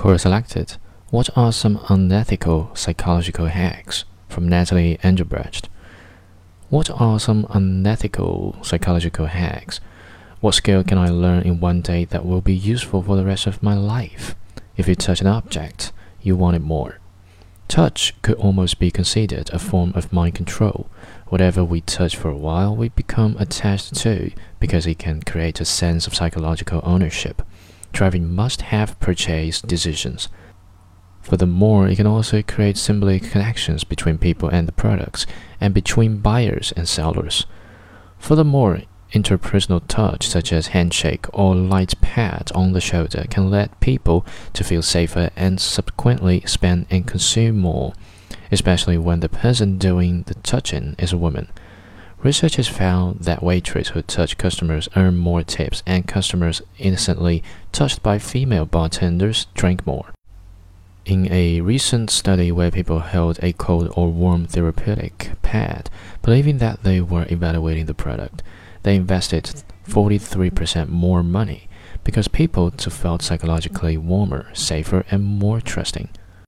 Core Selected. What are some unethical psychological hacks? From Natalie Engelbrecht. What are some unethical psychological hacks? What skill can I learn in one day that will be useful for the rest of my life? If you touch an object, you want it more. Touch could almost be considered a form of mind control. Whatever we touch for a while, we become attached to because it can create a sense of psychological ownership, driving must-have purchase decisions. Furthermore, it can also create symbolic connections between people and the products, and between buyers and sellers. Furthermore, interpersonal touch such as handshake or light pat on the shoulder can lead people to feel safer and subsequently spend and consume more, especially when the person doing the touching is a woman. Research has found that waitresses who touch customers earn more tips, and customers innocently touched by female bartenders drink more. In a recent study where people held a cold or warm therapeutic pad, believing that they were evaluating the product, they invested 43% more money because people felt psychologically warmer, safer, and more trusting.